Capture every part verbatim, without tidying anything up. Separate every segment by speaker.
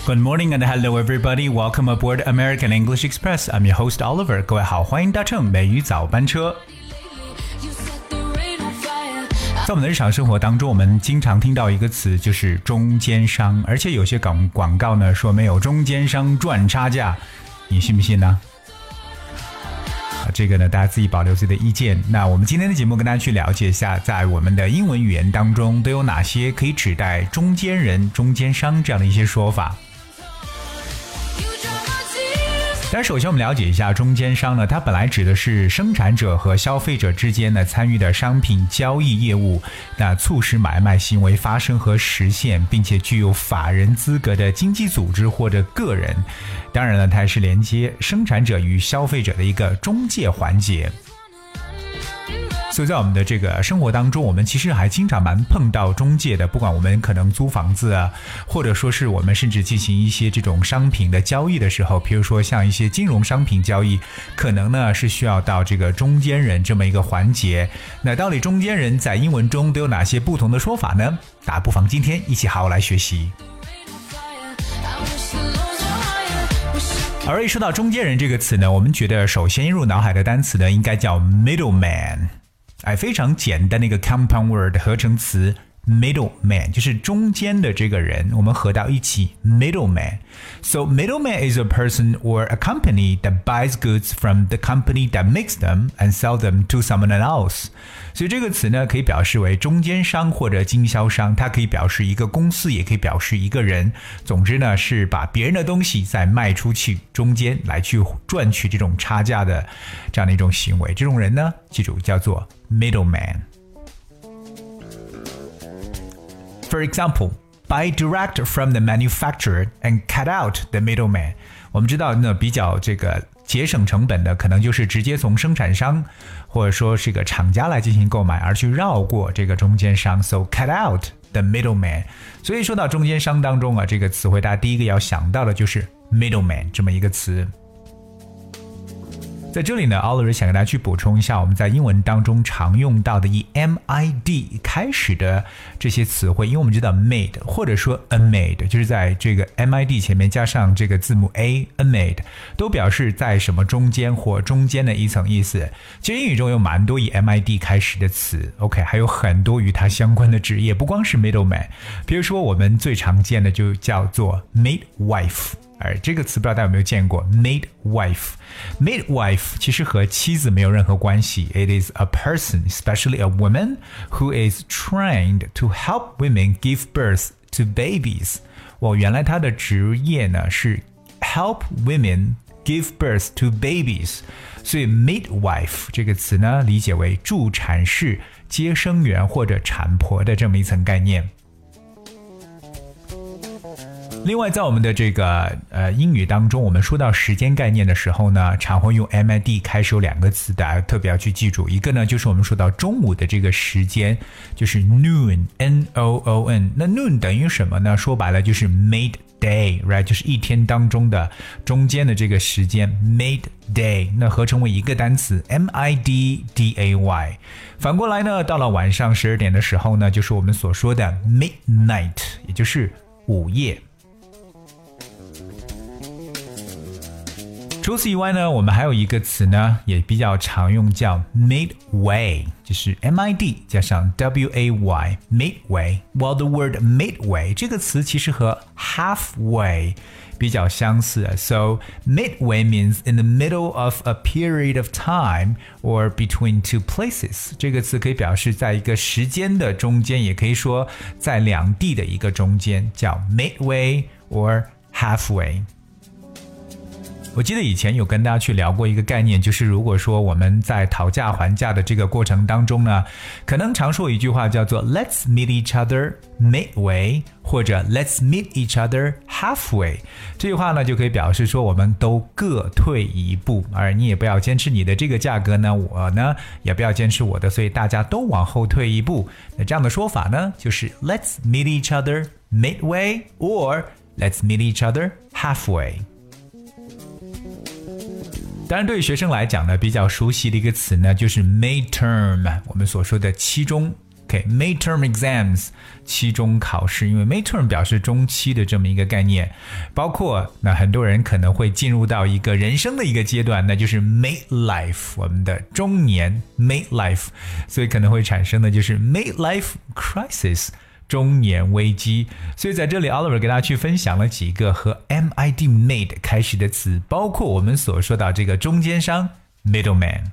Speaker 1: Good morning and hello everybody. Welcome aboard American English Express. I'm your host Oliver. 各位好，欢迎搭乘美语早班车。在我们的日常生活当中，我们经常听到一个词，就是中间商，而且有些广广告呢说没有中间商赚差价，你信不信呢？这个呢，大家自己保留自己的意见。那我们今天的节目跟大家去了解一下，在我们的英文语言当中都有哪些可以指代中间人、中间商这样的一些说法。但首先我们了解一下中间商呢，它本来指的是生产者和消费者之间呢参与的商品交易业务，那促使买卖行为发生和实现，并且具有法人资格的经济组织或者个人。当然了，它也是连接生产者与消费者的一个中介环节。所以在我们的这个生活当中，我们其实还经常蛮碰到中介的，不管我们可能租房子啊，或者说是我们甚至进行一些这种商品的交易的时候，比如说像一些金融商品交易，可能呢是需要到这个中间人这么一个环节。那到底中间人在英文中都有哪些不同的说法呢？大家不妨今天一起好好来学习。而一说到中间人这个词呢，我们觉得首先映入脑海的单词呢，应该叫 middleman。哎，非常简单的一个 compound word 合成词 middleman 就是中间的这个人，我们合到一起 middleman. So middleman is a person or a company that buys goods from the company that makes them and sell them to someone else. 所以这个词呢，可以表示为中间商或者经销商，它可以表示一个公司，也可以表示一个人。总之呢，是把别人的东西再卖出去，中间来去赚取这种差价的这样的一种行为。这种人呢，记住叫做 middleman.For example, buy direct from the manufacturer and cut out the middleman. 我们知道呢，比较这个节省成本的，可能就是直接从生产商或者说是个厂家来进行购买，而去绕过这个中间商。So cut out the middleman. 所以说到中间商当中啊，这个词汇大家第一个要想到的就是 middleman 这么一个词。在这里呢 Oliver 想跟大家去补充一下我们在英文当中常用到的以 M I D 开始的这些词汇，因为我们知道 made 或者说 a made 就是在这个 M I D 前面加上这个字母 A a made 都表示在什么中间或中间的一层意思。其实英语中有蛮多以 M I D 开始的词 OK 还有很多与它相关的职业，不光是 middleman， 比如说我们最常见的就叫做 midwife，而这个词不知道大家有没有见过 midwife midwife 其实和妻子没有任何关系。 It is a person, especially a woman, who is trained to help women give birth to babies. 我原来他的职业呢是 help women give birth to babies， 所以 midwife 这个词呢理解为助产士、接生员或者产婆的这么一层概念。另外在我们的这个呃英语当中，我们说到时间概念的时候呢，常会用 M I D 开始有两个词，大家特别要去记住。一个呢就是我们说到中午的这个时间，就是 noon N O O N。 那 noon 等于什么呢？说白了就是 midday right， 就是一天当中的中间的这个时间 midday， 那合成为一个单词 M I D D A Y。 反过来呢，到了晚上十二点的时候呢，就是我们所说的 midnight， 也就是午夜。除此以外呢，我们还有一个词呢也比较常用，叫 midway， 就是 M I D 加上 W A Y midway. Well, the word midway 这个词其实和 halfway 比较相似。 So midway means in the middle of a period of time or between two places. 这个词可以表示在一个时间的中间，也可以说在两地的一个中间，叫 midway or halfway。我记得以前有跟大家去聊过一个概念，就是如果说我们在讨价还价的这个过程当中呢，可能常说一句话叫做 Let's meet each other midway， 或者 Let's meet each other halfway。 这句话呢就可以表示说我们都各退一步，而你也不要坚持你的这个价格呢，我呢也不要坚持我的，所以大家都往后退一步。那这样的说法呢就是 Let's meet each other midway or Let's meet each other halfway。当然对于学生来讲呢，比较熟悉的一个词呢就是 midterm， 我们所说的期中 OK, midterm exams, 期中考试，因为 midterm 表示中期的这么一个概念，包括那很多人可能会进入到一个人生的一个阶段，那就是 midlife, 我们的中年 midlife, 所以可能会产生的就是 midlife crisis, 中年危机。所以在这里 Oliver 给大家去分享了几个和 M I D mid 开始的词，包括我们所说到这个中间商 middleman。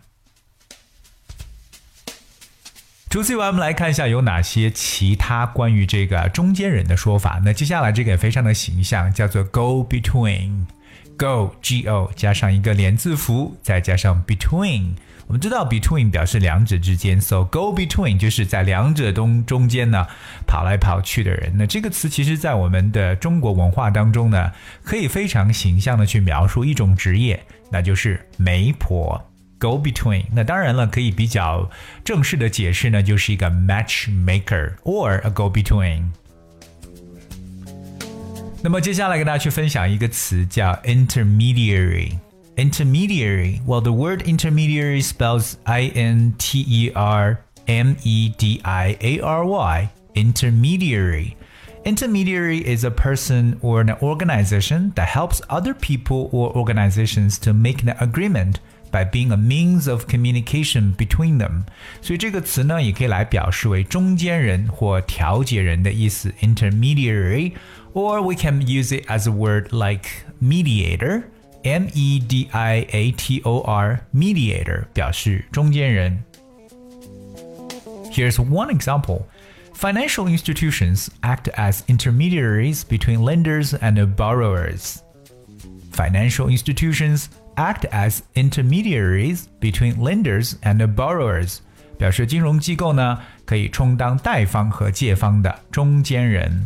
Speaker 1: 除此以外，我们来看一下有哪些其他关于这个中间人的说法。那接下来这个也非常的形象，叫做 go between. Go, G O 加上一个连字符，再加上 between。我们知道 between 表示两者之间 ，so go between 就是在两者中中间呢跑来跑去的人。那这个词其实在我们的中国文化当中呢，可以非常形象的去描述一种职业，那就是媒婆。Go between， 那当然了，可以比较正式的解释呢，就是一个 matchmaker or a go between。那么接下来跟大家去分享一个词叫 intermediary。Intermediary, well, the word intermediary spells I N T E R M E D I A R Y. Intermediary. Intermediary is a person or an organization that helps other people or organizations to make an agreement.By being a means of communication between them. 所以这个词呢，也可以来表示为中间人或调解人的意思 intermediary, or we can use it as a word like mediator, M E D I A T O R, mediator, 表示中间人。Here's one example. Financial institutions act as intermediaries between lenders and borrowers. Financial institutions act as intermediaries between lenders and borrowers. 表示金融机构呢，可以充当贷方和借方的中间人。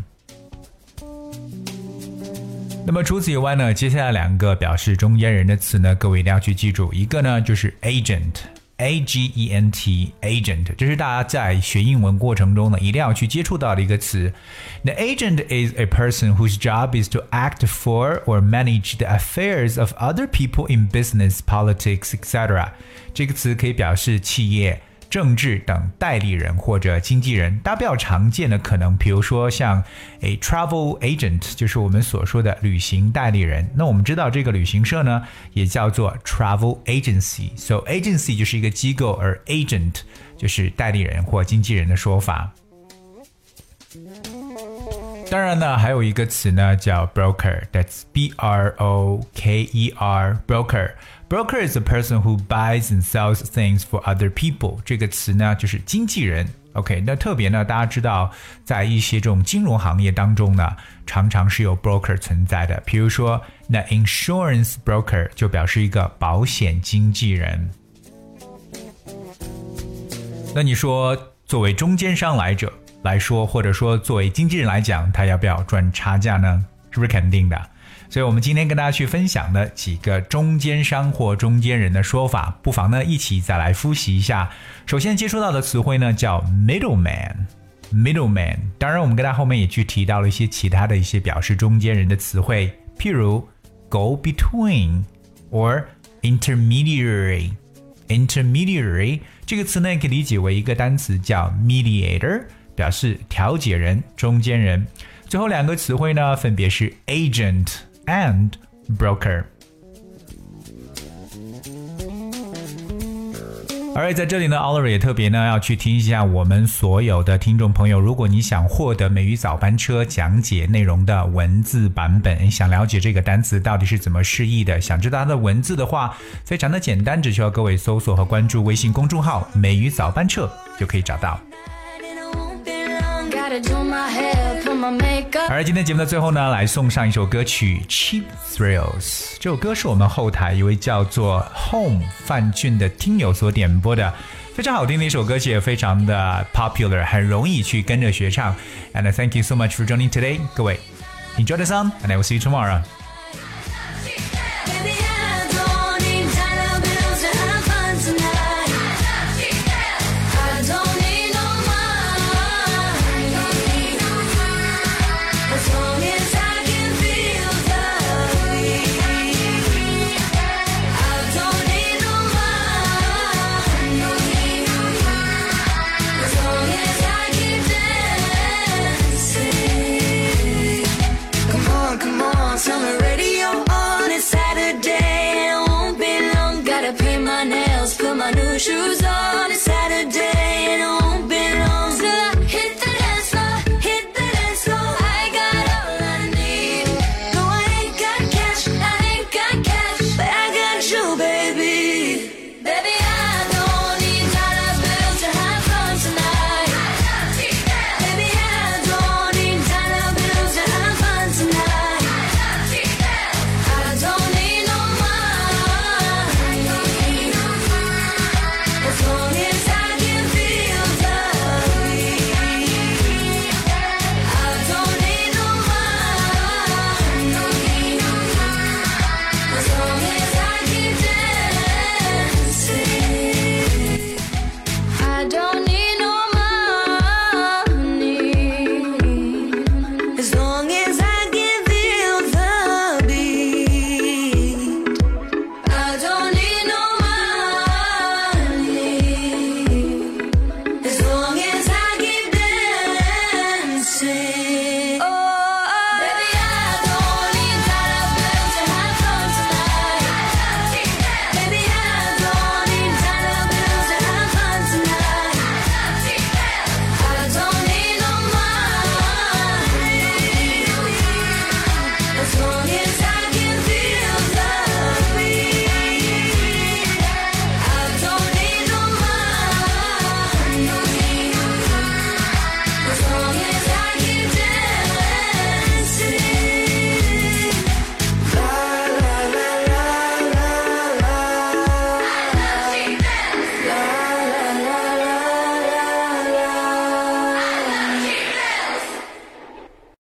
Speaker 1: 那么除此以外呢，接下来两个表示中间人的词呢，各位一定要去记住。一个呢就是 agent。A G E N T, agent, 这是大家在学英文过程中呢一定要去接触到的一个词。The agent is a person whose job is to act for or manage the affairs of other people in business, politics, et cetera. 这个词可以表示企业、政治等代理人或者经纪人。大家比较常见的可能比如说像 a travel agent 就是我们所说的旅行代理人。那我们知道这个旅行社呢也叫做 travel agency, so agency 就是一个机构，而 agent 就是代理人或经纪人的说法。当然呢还有一个词呢叫 broker, that's B R O K E R, broker.Broker is a person who buys and sells things for other people. 这个词呢就是经纪人。OK, 那特别呢大家知道在一些这种金融行业当中呢常常是有 broker 存在的，比如说那 insurance broker 就表示一个保险经纪人。那你说作为中间商来者来说，或者说作为经纪人来讲，他要不要赚差价呢？是不是肯定的？所以我们今天跟大家去分享的几个中间商或中间人的说法，不妨呢一起再来复习一下。首先接触到的词汇呢叫 middleman, middleman。当然我们跟大家后面也去提到了一些其他的一些表示中间人的词汇，譬如 go between or intermediary. Intermediary 这个词呢也可以理解为一个单词叫 mediator， 表示调解人、中间人。最后两个词汇呢分别是 agent and broker。 而在这里呢 Oliver 也特别呢要去提醒一下我们所有的听众朋友，如果你想获得美语早班车讲解内容的文字版本，想了解这个单词到底是怎么释义的，想知道它的文字的话，非常的简单，只需要各位搜索和关注微信公众号美语早班车就可以找到。而今天节目的最后呢，来送上一首歌曲 Cheap Thrills。 这首歌是我们后台一位叫做 Home 范俊的听友所点播的，非常好听的一首歌曲，也非常的 popular， 很容易去跟着学唱。 And thank you so much for joining today. 各位 enjoy the song and I will see you tomorrow. As long as I
Speaker 2: my new shoes